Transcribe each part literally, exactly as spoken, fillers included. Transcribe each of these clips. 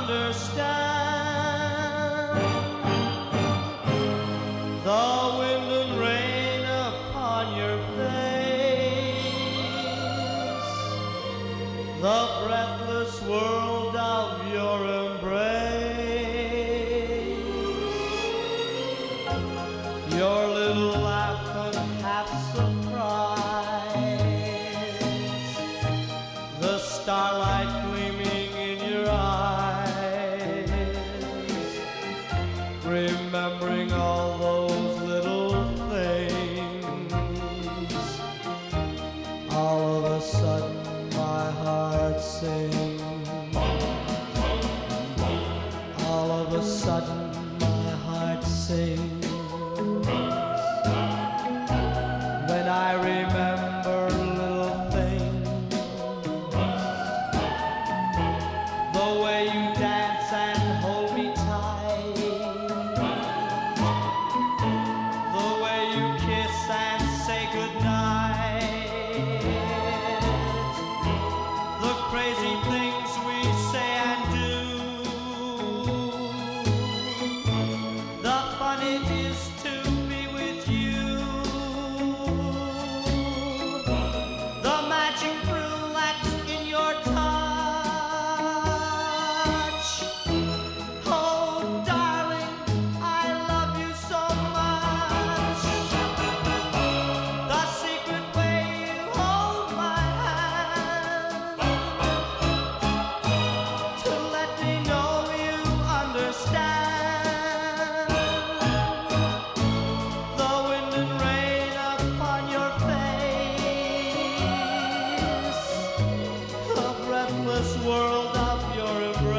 understand the wind and rain upon your face, the breathless world of your embrace, your little laugh and half surprise, the starlight gleaming in your eyes, remembering all those little things. All of a sudden my heart sings. All of a sudden my heart sings when I remember little things, the way you dance and hold me tight, the way you kiss and say goodnight, the crazy things we say and do, the fun it is to be with you, the magic thrill that's in your touch. Oh, darling, I love you so much. The secret way you hold my hand to let me know you understand the wind and rain upon your face, the breathless world of your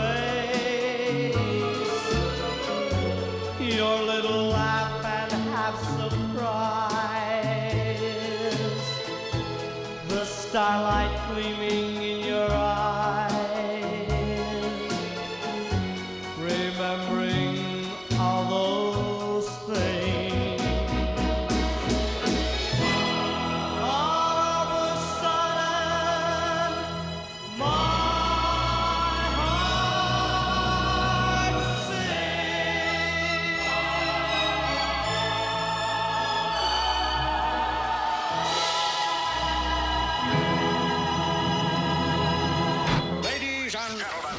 embrace, your little laugh and half surprise, the starlight gleaming in your eyes, remembering all those things. All of a sudden, my heart sings. Ladies and gentlemen.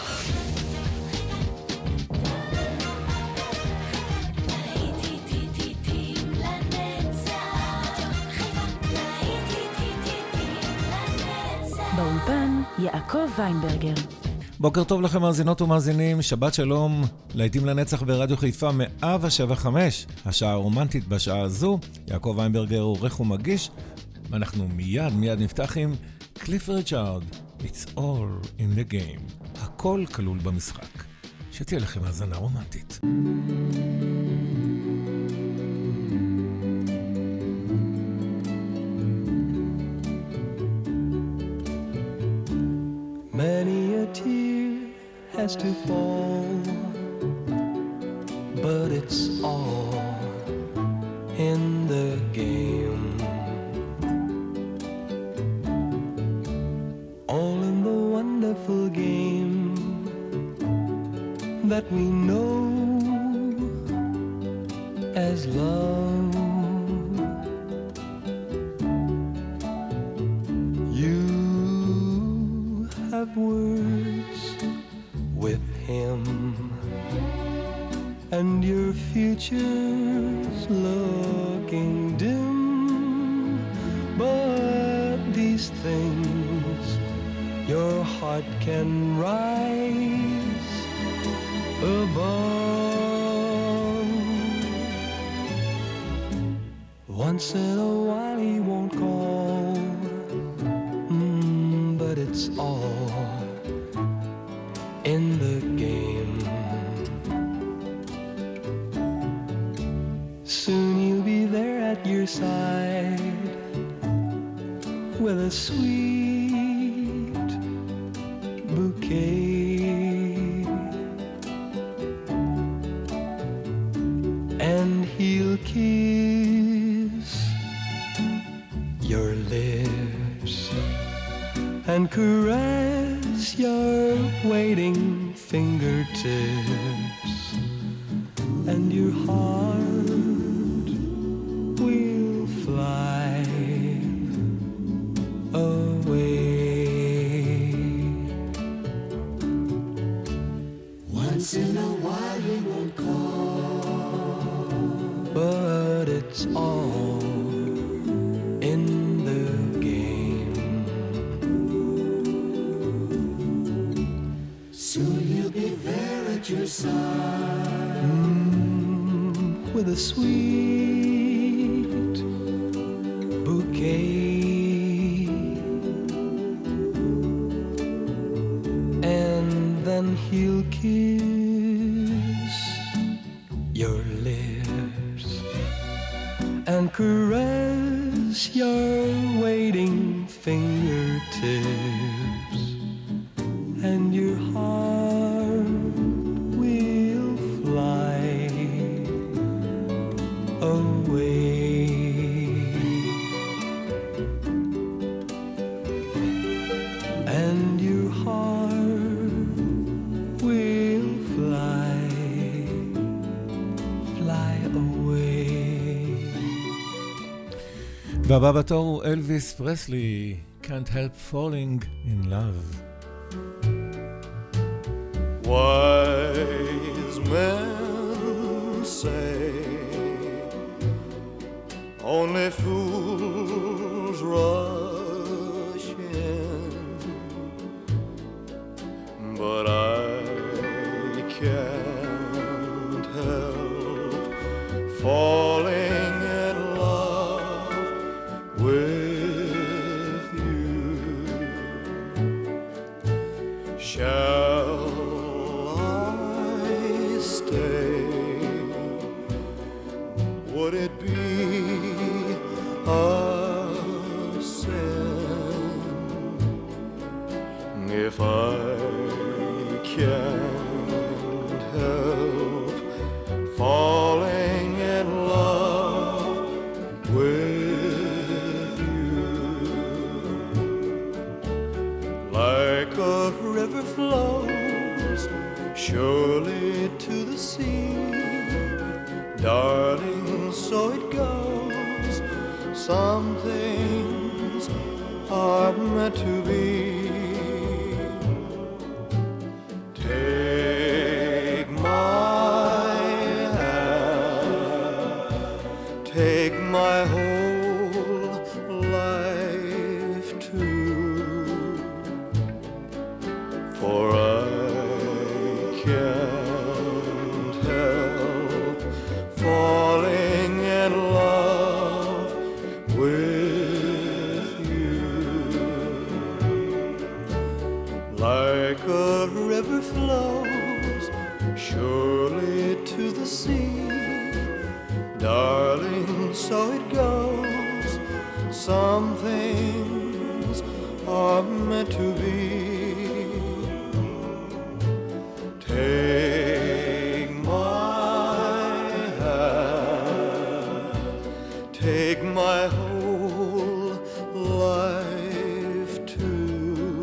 באולפן יעקב ויינברגר. בוקר טוב לכם מאזינות ומאזינים, שבת שלום, להיטים לנצח ברדיו חיפה מאה שבע חמש, השעה הרומנטית בשעה הזו. יעקב ויינברגר עורך ומגיש, ואנחנו מיד מיד נפתח עם קליף ריצ'ארד, It's all in the game, הכל כלול במשחק. שתהיה לכם האזנה רומנטית. Many a tear has to fall, but it's all in the game. All in the wonderful game that we know as love. You have words with him, and your future's looking dim, but these things your heart can rise above. Once in a while he won't call, mm, but it's all in the game. Soon he'll be there at your side with a sweet bouquet, and he'll kiss your lips and caress your waiting fingertips, and your heart will fly away. Once in a while he won't call, but it's all in the game. Soon he'll be there at your side, mm, with a sweet bouquet, and then he'll kiss your lips and caress your waiting fingertips, and your heart will fly away. And your heart will fly, fly away. והבא בתור הוא אלוויס פרסלי, Can't Help Falling in Love. Wise men say only fools rush in, but I can't help falling in love with you. Shall would it be a sin if I can't help falling in love with you? Like a river flows surely to the sea, darling, so it goes. Some things are meant to be. Take my hand, take my whole life too, for I can't help falling in love with you. Like a river flows surely to the sea, darling, so it goes. Some things are meant to be. Take my hand, take my whole life too,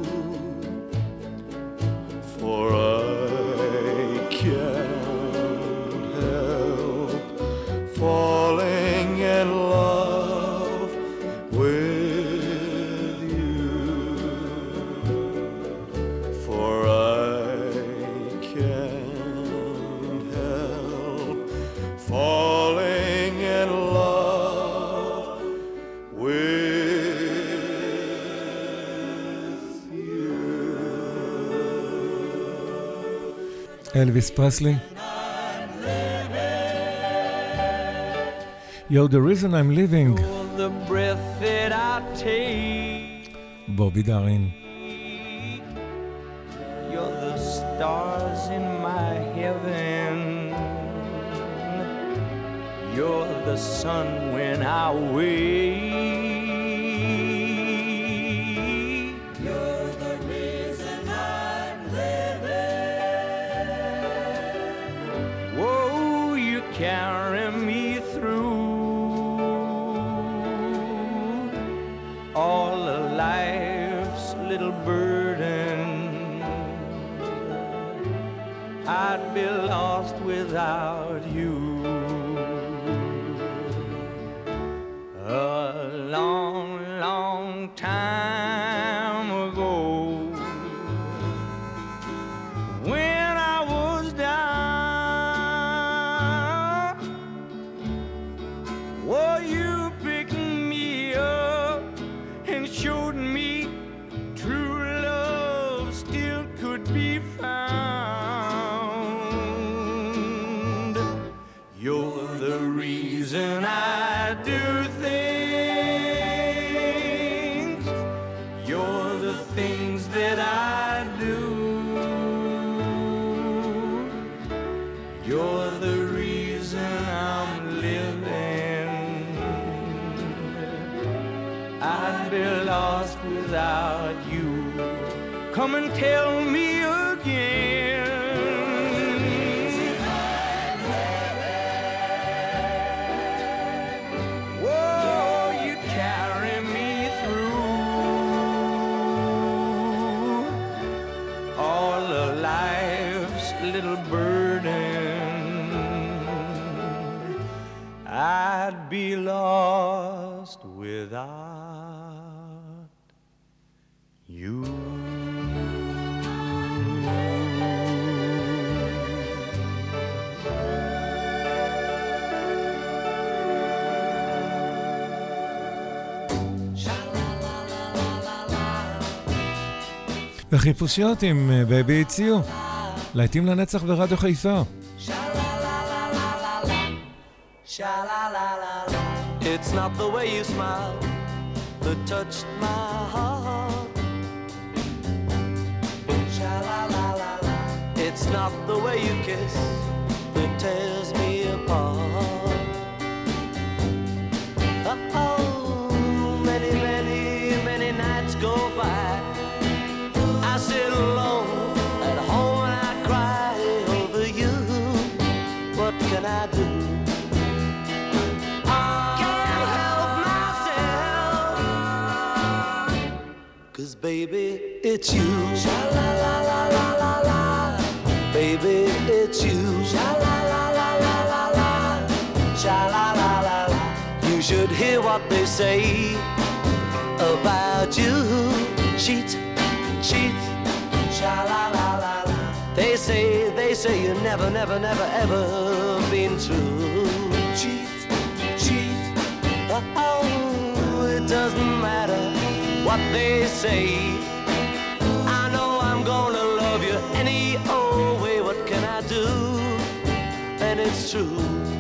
for I can't help falling in love with you, for I can't help falling in love with you. אלוויס פרסלי. Yo, the reason I'm living. The breath that I take, בובי דארין. you're the stars in my heaven, you're the sun when I wake, you're the reason I'm living. Whoa, you carry me through all of life's little burden. I'd be lost without you. A long, long time ago, when I was down, oh, you picked me up and showed me true love still could be found. You're the reason I do things. You're the things that I do. You're the reason I'm living. I'd be lost without you. Come and tell me again. Whoa, you carry me through all of life's little burden. I'd be lost without you. וחיפושיות עם בייבי הציעו להיטים לנצח ברדיו חיפה. It's not the way you smile that touched my heart. Sha-la-la-la-la. It's not the way you kiss that tears me apart. Oh, many, many, many nights go by. I sit alone at home and I cry over you. What can I do? Baby, it's you. Sha-la-la-la-la-la-la. Baby, it's you. Sha-la-la-la-la-la-la. Sha-la-la-la-la. You should hear what they say about you. Cheat, cheat. Sha-la-la-la-la. They say, they say you never, never, never, ever been true. Cheat, cheat. Oh, it doesn't matter what they say. I know I'm gonna love you any old way. What can I do? And it's true.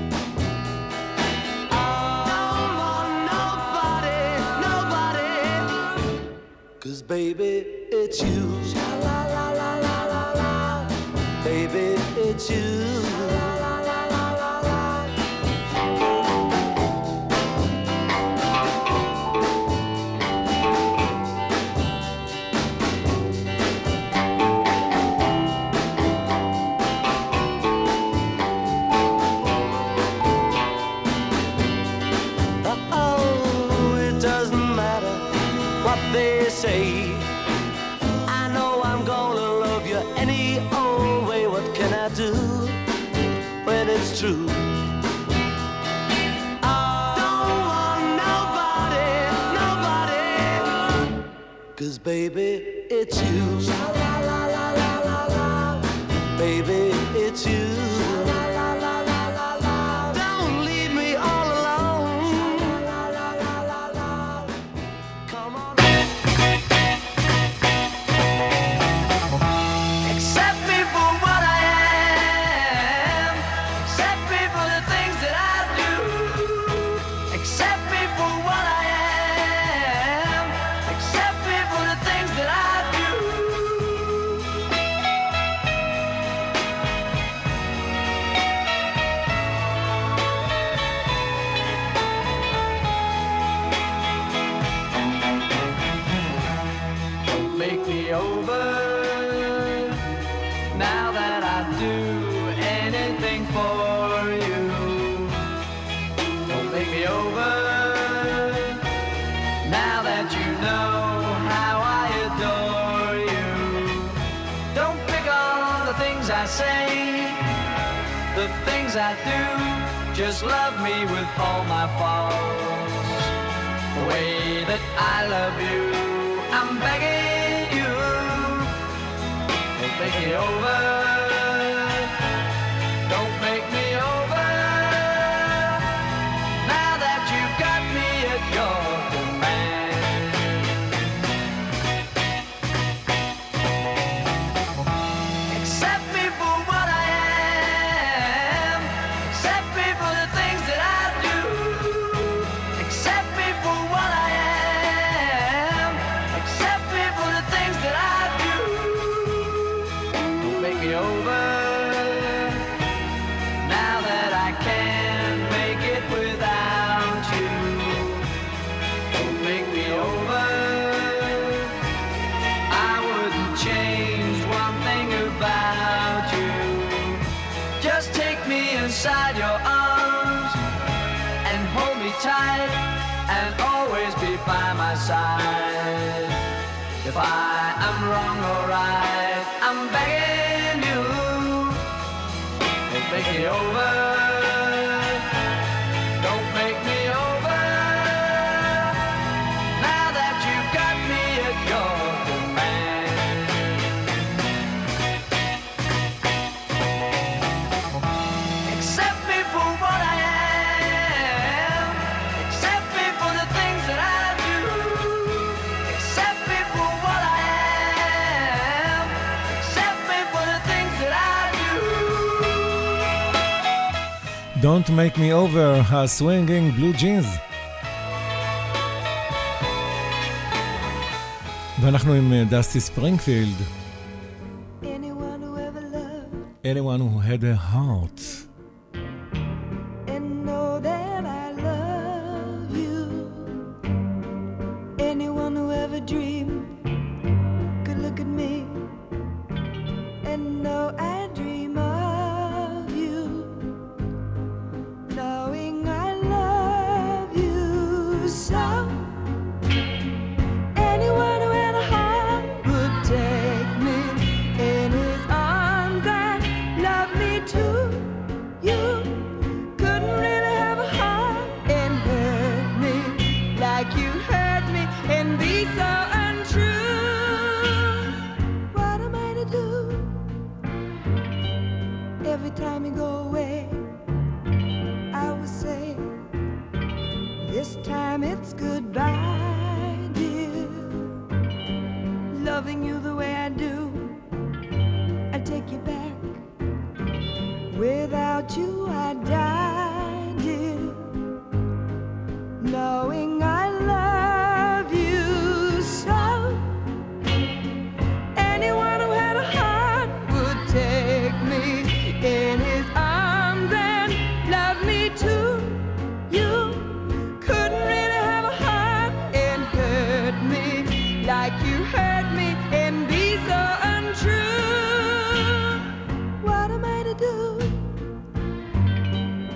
I don't want nobody, nobody. 'Cause baby, it's you. Sha-la-la-la-la-la-la. Baby, it's you. They say I know I'm gonna love you any old way. What can I do when it's true? I don't want nobody, nobody. 'Cause baby, it's you. Sha-la-la-la-la-la-la. Baby, it's you. Don't leave me all alone. Come on. Accept me for what I am. Accept me for the things that I do. Accept me for what I am. Accept me for the things that I do. things I say, the things I do, just love me with all my faults. The way that I love you, I'm begging you, don't make me over, don't make me over, now that you've got me at your command. Accept me for what I am, accept me for the things that I do, accept me for what I am, accept me for the things that I do. Don't make me over, now that I can't make it without you. Don't make me over, I wouldn't change one thing about you. Just take me inside your arms and hold me tight and always be by my side. If I am wrong or right, I'm begging you, don't make me over, don't make me over, now that you've got me at your command. Accept me for what I am, accept me for the things that I do, accept me for what I am, accept me for the things that I do. Don't Make Me Over, הסווינגינג בלו ג'ינס. ואנחנו עם דסטי ספרינגפילד. Anyone who ever loved Anyone who had a heart. and know that I love you. Anyone who ever dreamed could look at me and know I dream of you. Knowing I love you so. Anyone who had a heart would take me in his arms and love me too. You couldn't really have a heart and hurt me like you hurt me and be so untrue. What am I to do? Every time you go away, I will say, this time it's goodbye, dear. Loving you the way I do, I take you back. Without you I die, dear. Knowing I love you so. Anyone who had a heart would take me in his arms and love me too. You couldn't really have a heart and hurt me like you hurt me and be so untrue. What am I to do?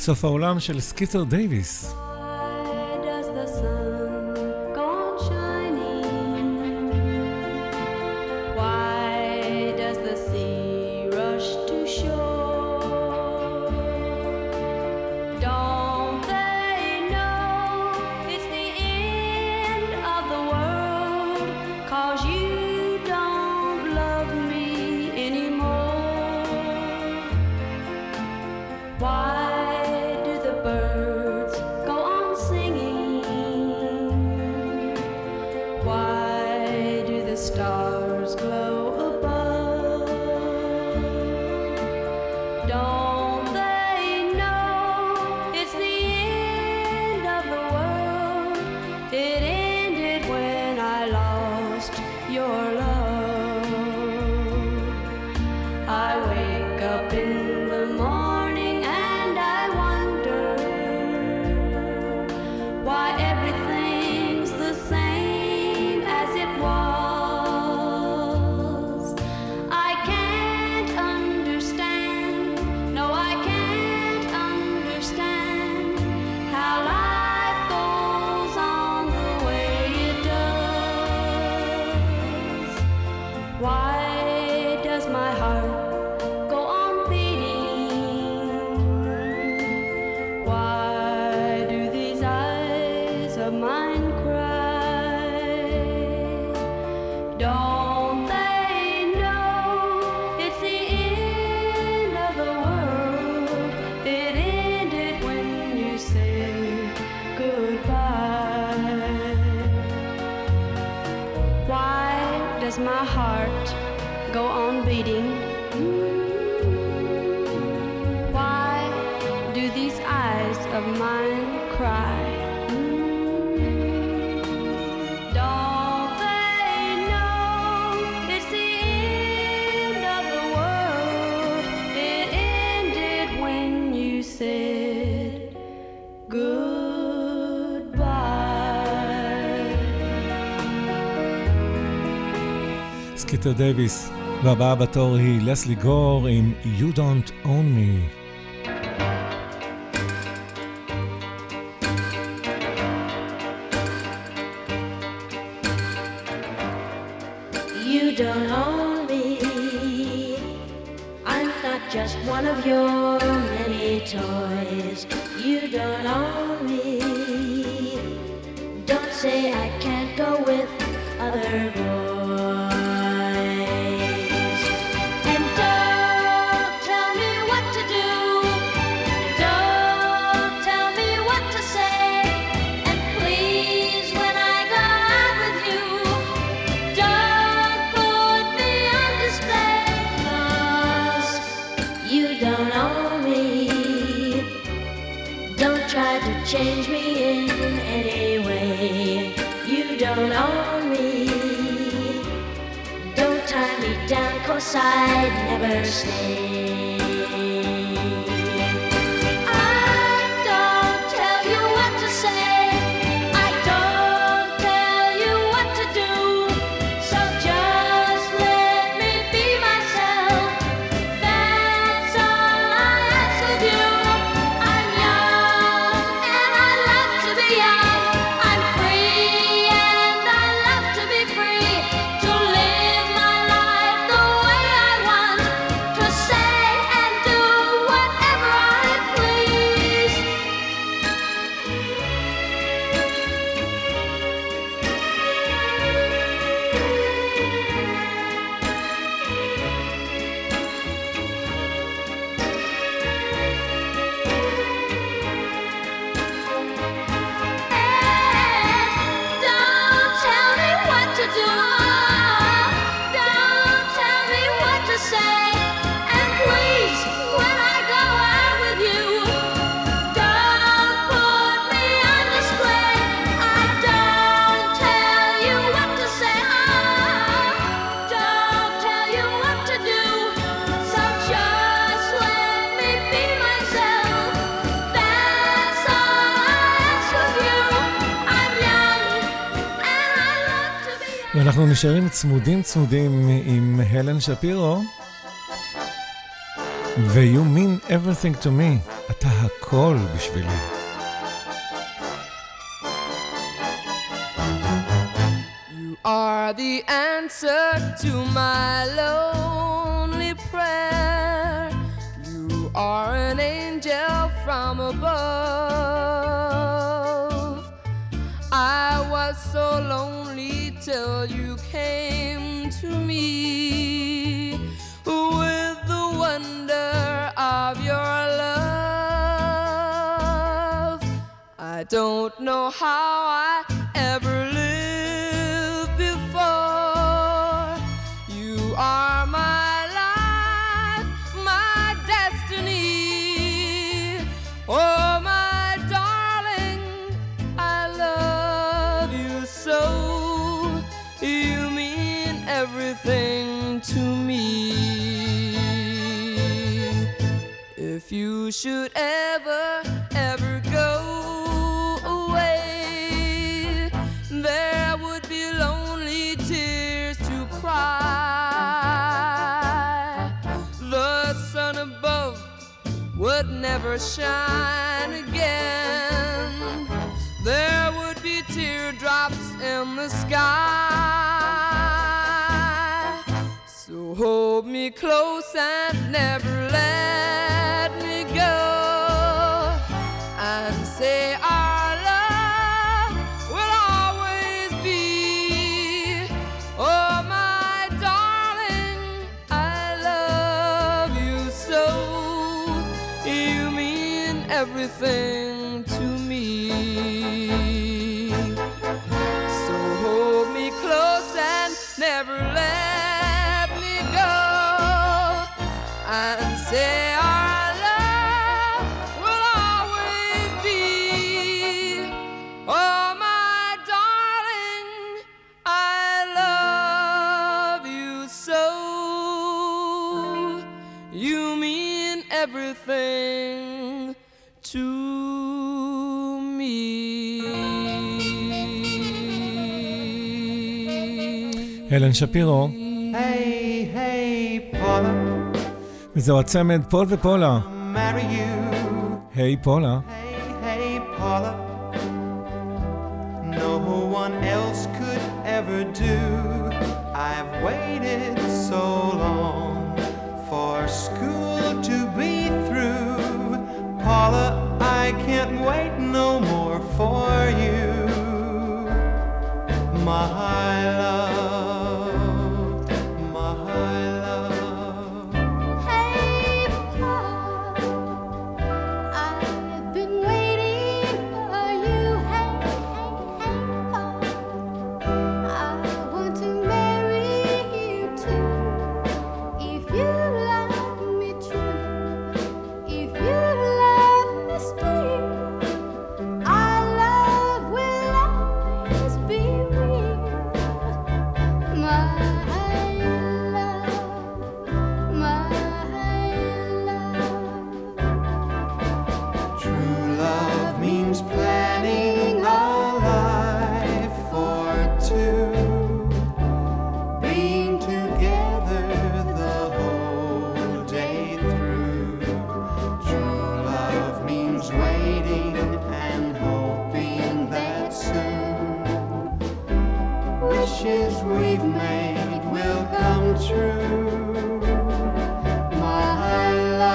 סוף העולם של סקית'ר דייוויס. My heart go on beating? Why do these eyes of mine cry? Don't they know it's the end of the world? It ended when you said goodbye. סקית'ר דייוויס, והבאה בתור היא לסלי גור עם You Don't Own Me. You don't own me. I'm not just one of your many toys. You don't own me. Don't say I can't go with other boys. Change me in any way. You don't own me. Don't tie me down, 'cause I'd never stay. I don't tell you what to say. I don't tell you what to do. So just let me be myself. That's all I ask of you. I'm young. I'm free and I love to be free, to live my life the way I want, to say and do whatever I please. Don't tell me what to do. Don't tell me what to say. And please, when I go out with you, don't put me on display. I don't tell you what to say. Don't tell you what to do. So just let me be myself. That's all I ask of you. I'm young and I love to be young. ואנחנו נשארים צמודים צמודים עם הלן שפירו. ו-You mean everything to me, אתה הכל בשבילי. You are the answer to my lonely prayer. You are an angel from above. I was so lonely till you came to me with the wonder of your love. I don't know how I ever lived before. You are my life, my destiny. Oh, my darling, I love you so. You mean everything to me. If you should ever, ever go away, there would be lonely tears to cry. The sun above would never shine again. There would be teardrops in the sky. So hold me close and never let me go, and say our love will always be. Oh, my darling, I love you so. You mean everything to me. So hold me close and never let me go, and say our love will always be. Oh, my darling, I love you so. You mean everything to me. אלן שפירו. Hey, hey, Paula, וזהו הצמד פול ופולה. marry you. היי פולה. Hey, hey, Paula, no one else could ever do. I've waited so long for school to be through. Paula, I can't wait no more for you. My love, my love. Hey, Paul, I've been waiting for you. Hey, hey, hey, Paul, I want to marry you too. If you love me true, if you love me still, our love will always be real. My love, my love. True love means planning a life for two, being together the whole day through. True love means waiting and hoping that soon wishes we've made will come true. My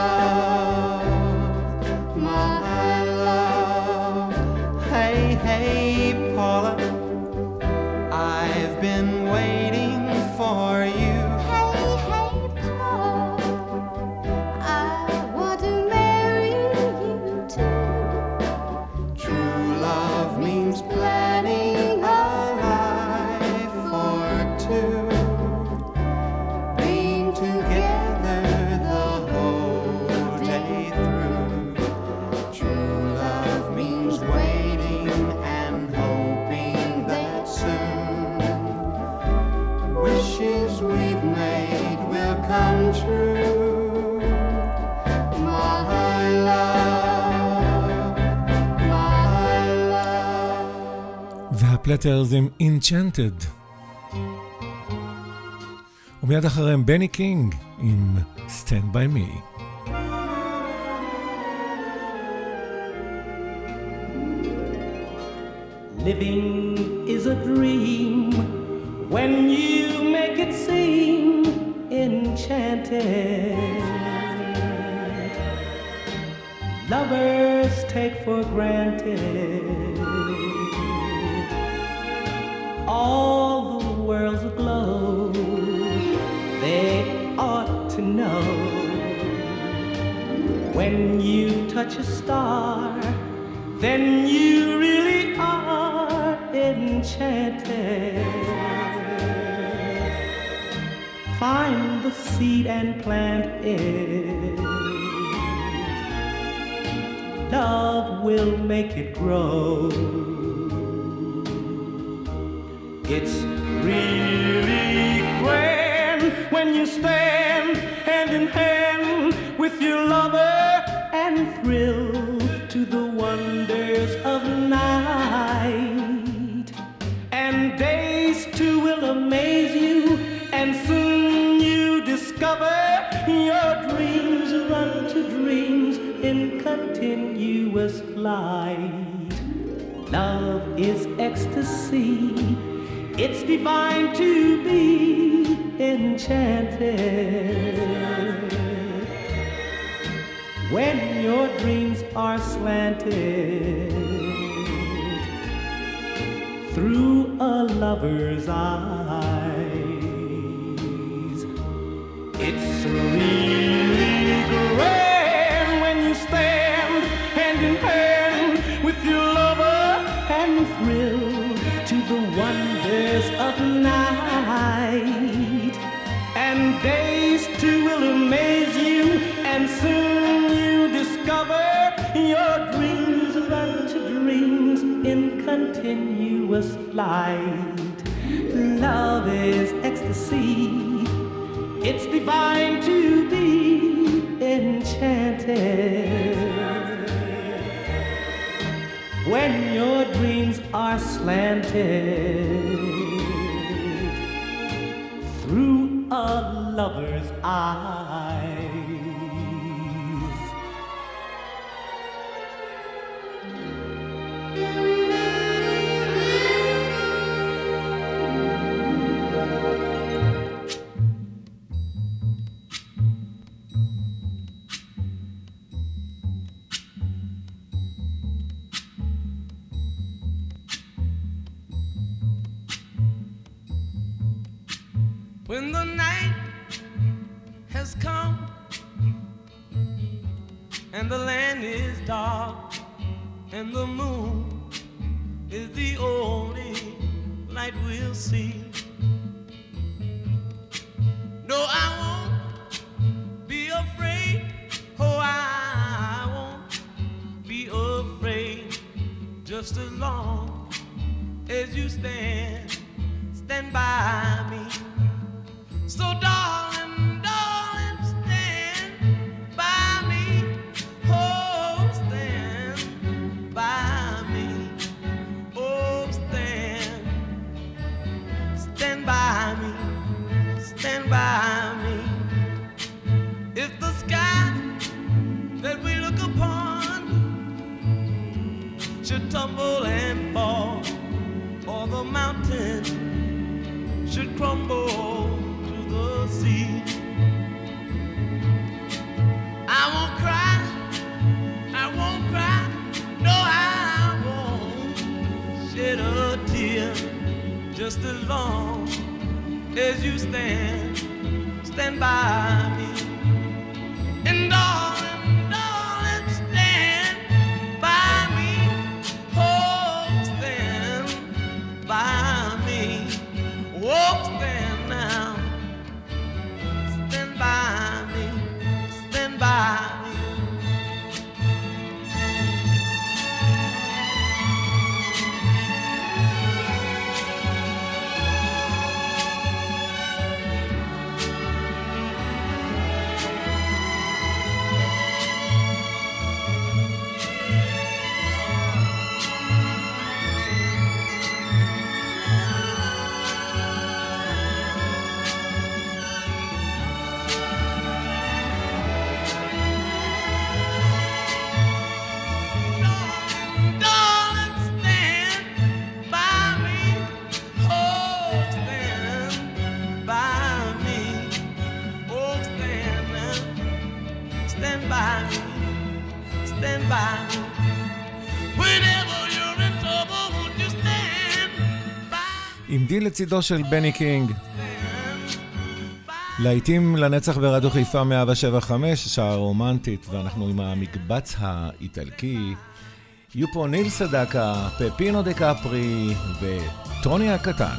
love, my love. Hey, hey, Paula, I've been waiting for you. Hey, hey, Paul, I want to marry you too. True love means planning a life for two, being together the whole day through. True love means waiting and hoping that soon wishes we've made will come true. My love, my love. והפלטרס עם Enchanted. ומיד אחריהם בני קינג עם Stand By Me. living is a dream when you make it seem enchanted. Lovers take for granted all the world's aglow. They ought to know when you touch a star, then you really are enchanted. Find the seed and plant it. Love will make it grow. It's really grand when you stand hand in hand with your lover and thrill to the wonders of night. And days too will amaze you, and soon you discover your dreams run to dreams in continuous flight. Love is ecstasy. It's divine to be enchanted. When your dreams are slanted through a lover's eyes, it's really grand when you stand hand in hand with your lover and thrill to the wonders of night. And days too will amaze you, and soon you discover your dreams run to dreams in continuous flight. Love is ecstasy. It's divine to be enchanted. When your dreams are slanted through a lover's eyes. When the night has come and the land is dark and the moon is the only light we'll see. No, I won't be afraid. Oh, I won't be afraid. Just as long as you stand, stand by me. So darling, darling, stand by me. Oh, stand by me. Oh, stand, stand by me. Stand by me. If the sky that we look upon should tumble and fall, or the mountain should crumble the sea, I won't cry, I won't cry, no, I won't shed a tear. Just as long as you stand, stand by me. And darling, darling, stand by me. Oh, stand by me. Oh, stand now. Stand by me, stand by me. stand by me? Whenever you're in trouble, won't you stand by? עם די לצידו של בני קינג. להיטים לנצח ברדיו חיפה מאה שבע חמש, שעה רומנטית, ואנחנו עם המקבץ האיטלקי. יהיו פה ניל סדקה, פפינו דה קפרי וטוני הקטן.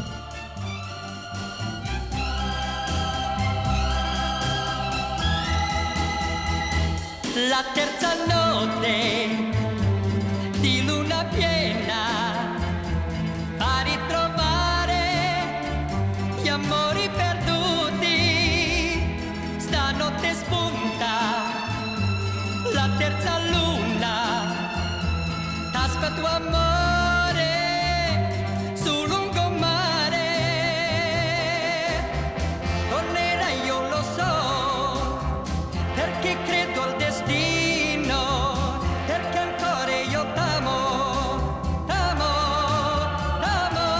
La terza notte di luna piena a ritrovare gli amori perduti. Stanotte spunta la terza luna, t'aspetto amore sul lungomare. Tornerai, io lo so, perché credo al destino, perché ancora io t'amo, t'amo, t'amo.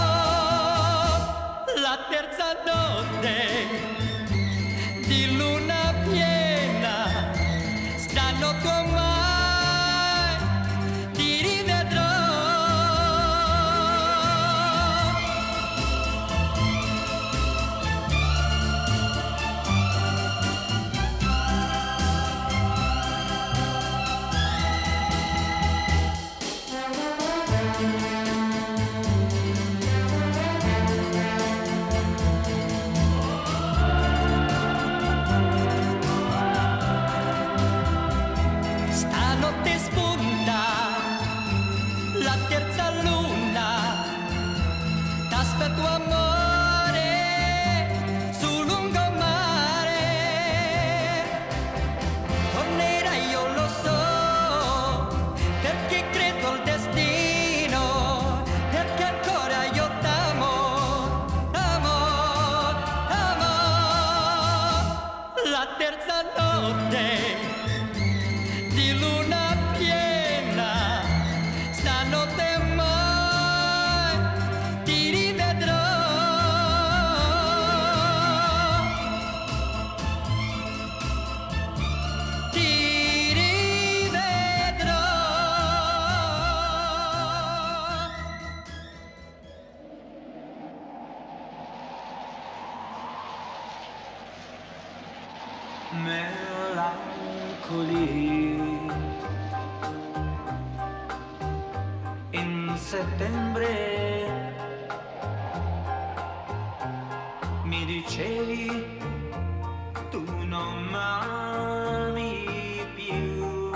La terza notte di luna piena, stanotte mai ti rivedrò. Stanotte spunta la terza luna, t'aspetto amore sul lungomare. Tornerai, io lo so, perché credo al destino, perché ancora io t'amo, t'amo, t'amo. La terza notte di luna piena, stanotte mai ti rivedrò. Ti rivedrò. Melancoli in settembre mi dicevi tu non m'ami più,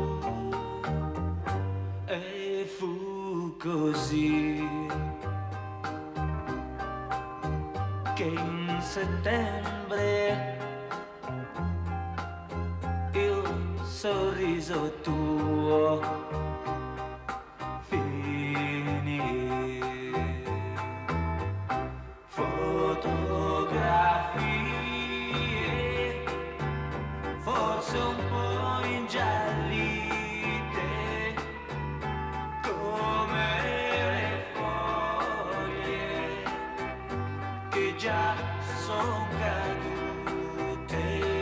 e fu così che in settembre il sorriso tuo finì. Fotografie forse un po' ingiallite come le foglie che già son cadute.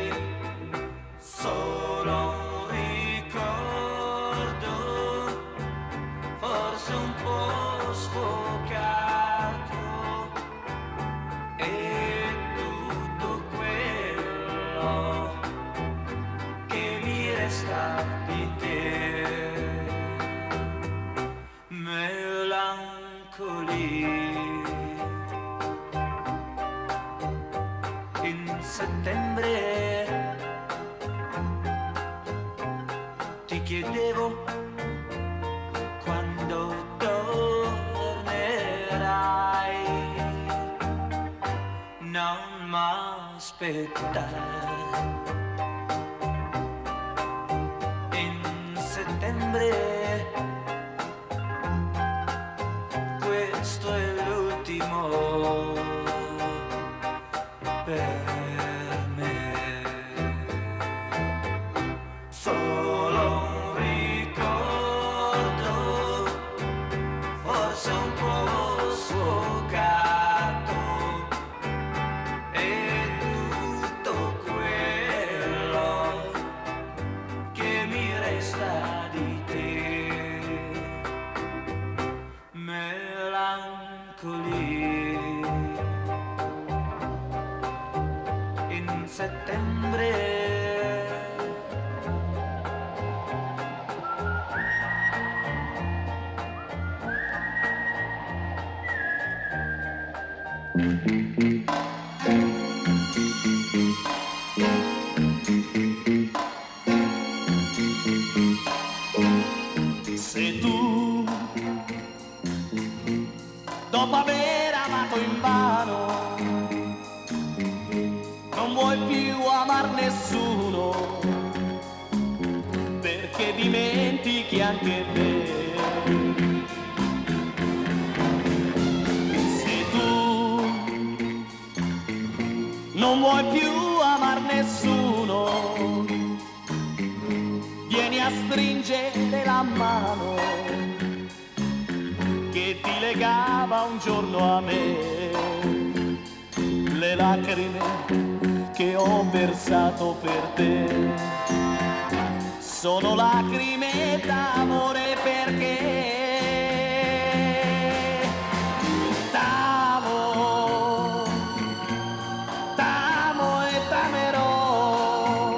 Solo un ricordo, forse un po' sfocato, e tutto quello che mi resta di te. Melancoli in settembre ti chiedevo quando tornerai, non m'aspettare. In settembre questo è l'ultimo per me. Solo un ricordo, forse un po' sfocato, e tutto quello che mi resta di settembre. Se tu, dopo aver amato invano, non vuoi più amar nessuno, perché dimentichi anche te. Se tu non vuoi più amar nessuno, vieni a stringere la mano che ti legava un giorno a me. Le lacrime che ho versato per te sono lacrime d'amore, perché t'amo, t'amo e t'amerò,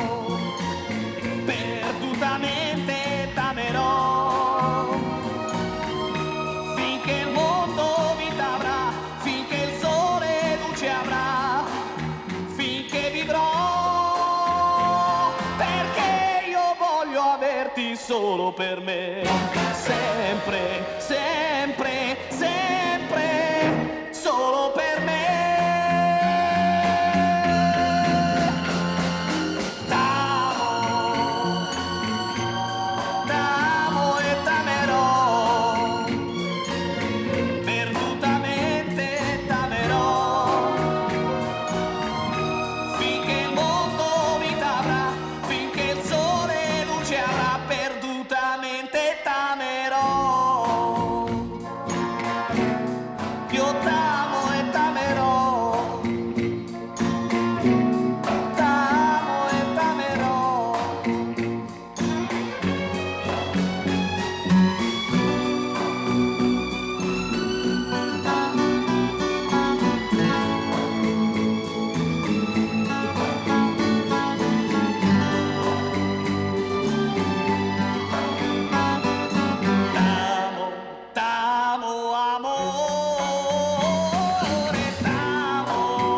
perdutamente t'amerò, finché il mondo vita avrà, finché il sole luce avrà, finché vivrò, perché io voglio averti solo per me, sempre, sempre, sempre, solo per me. T'amo, t'amo e t'amerò, perdutamente t'amerò, finché il mondo vita avrà, finché il sole luce avrà, perdutamente t'amerò. Io t'amo e t'amerò, t'amo e t'amerò. T'amo, t'amo, amore, t'amo,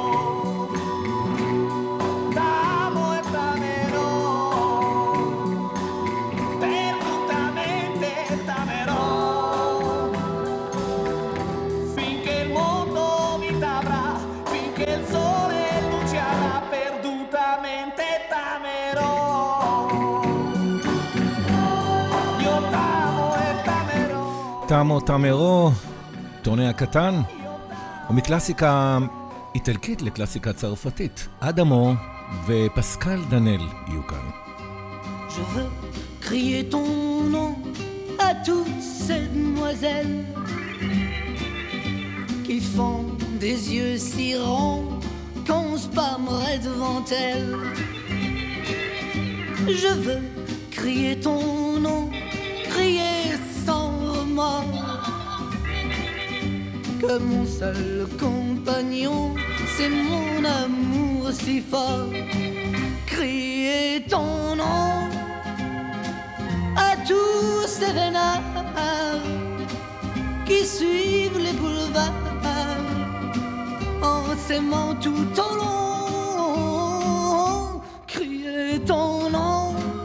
t'amo e t'amerò, perdutamente t'amerò, finché il mondo vita avrà, finché il sole luce avrà, perdutamente t'amerò. Io t'amo e t'amerò. תמו תמרו, טוני הקטן, ומקלאסיקה איטלקית לקלאסיקה צרפתית, אדמו ופסקל דנל יהיו כאן. Je veux crier ton nom à toutes ces demoiselles qui font des yeux si ronds qu'on se pâmerait devant elles. Je veux crier ton nom, crier sans remords, que mon seul compagnon, c'est mon amour si fort. Crier ton nom à tous ces vénards qui suivent les boulevards en s'aimant tout au long. Crier ton nom,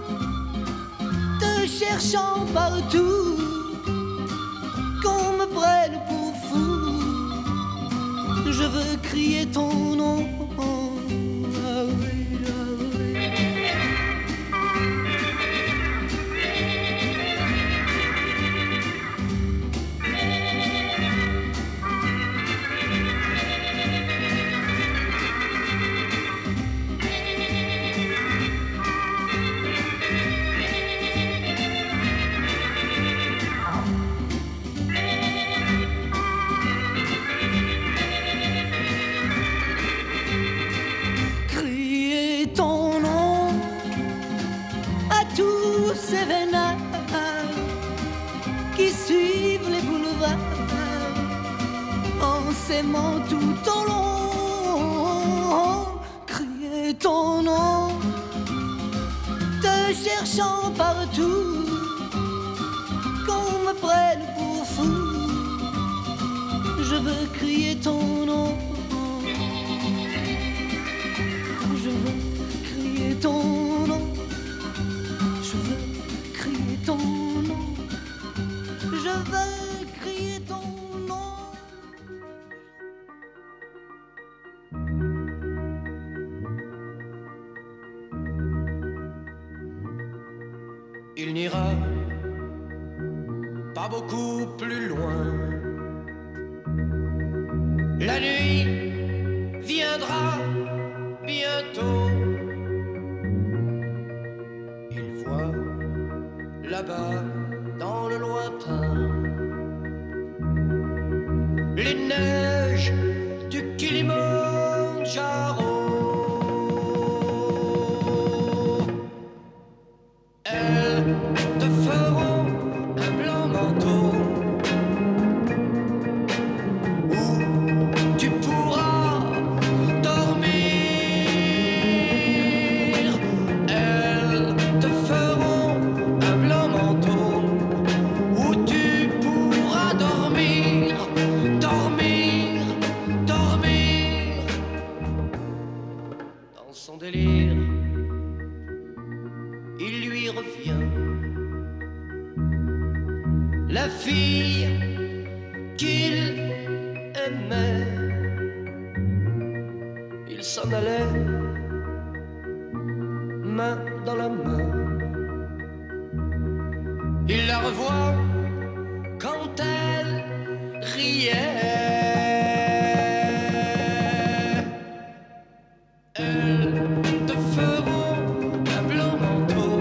te cherchant partout, qu'on me prenne pour fou. Je veux crier ton nom. Ah oui, ah oui. Ces vénards qui suivent les boulevards en s'aimant tout au long. Crier ton nom, te cherchant partout, qu'on me prenne pour fou. Je veux crier ton nom, je veux crier ton nom, je veux crier ton nom, je veux crier ton nom. Il n'ira pas beaucoup plus loin. La nuit viendra bientôt. Il voit là-bas dans le lointain les neiges du Kilimandjaro. Elles te feront un blanc manteau où tu pourras dormir. Elles te feront un blanc manteau où tu pourras dormir, dormir, dormir. Dans son délire, il lui revient la fille qu'il aimait. Il s'en allait, main dans la main. Il la revoit quand elle riait. Elles te feront un blanc manteau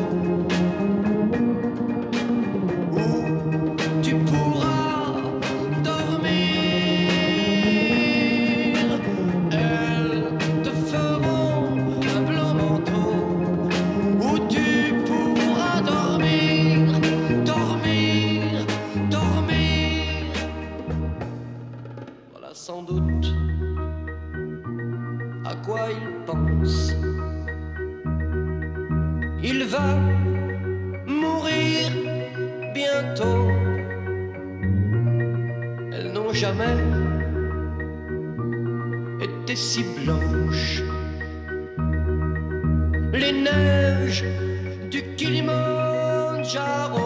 où tu pourras dormir. Elles te feront un blanc manteau où tu pourras dormir, dormir, dormir. Voilà sans doute à quoi il pense. Il va mourir bientôt. Elles n'ont jamais été si blanches. Les neiges du Kilimandjaro.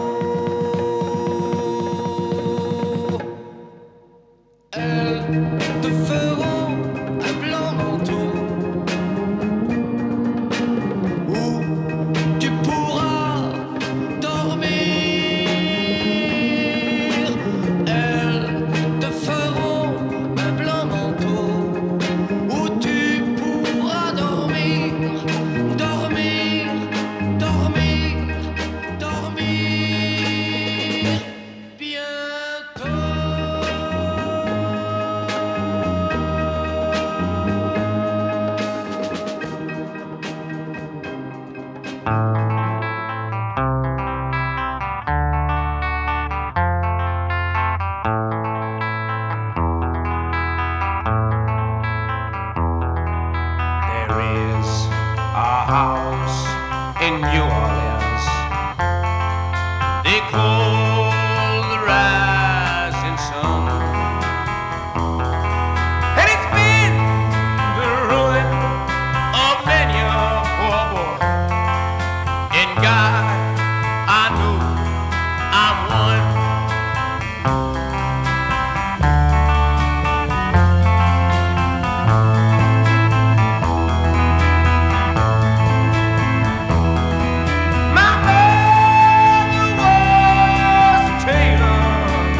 Elles te feront un blanc manteau où tu pourras dormir. Elles te feront un blanc manteau où tu pourras dormir, dormir, dormir, dormir bientôt. There is a house in New Orleans they call the Rising Sun, and it's been the ruin of many a poor boy. And God, I know I'm one. My mother was a tailor.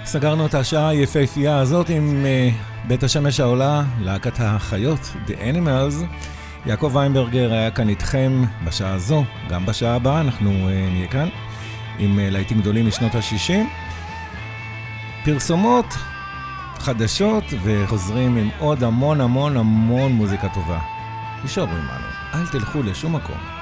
סגרנו את השעה היפהפייה הזאת עם uh, בית השמש העולה, להקת החיות, The Animals. יעקב ויינברגר היה כאן איתכם בשעה הזו, גם בשעה הבאה אנחנו uh, נהיה כאן עם uh, להיטים גדולים משנות ה-שישים. פרסומות, חדשות, וחוזרים עם עוד המון המון המון מוזיקה טובה. נשארו עמנו, אל תלכו לשום מקום.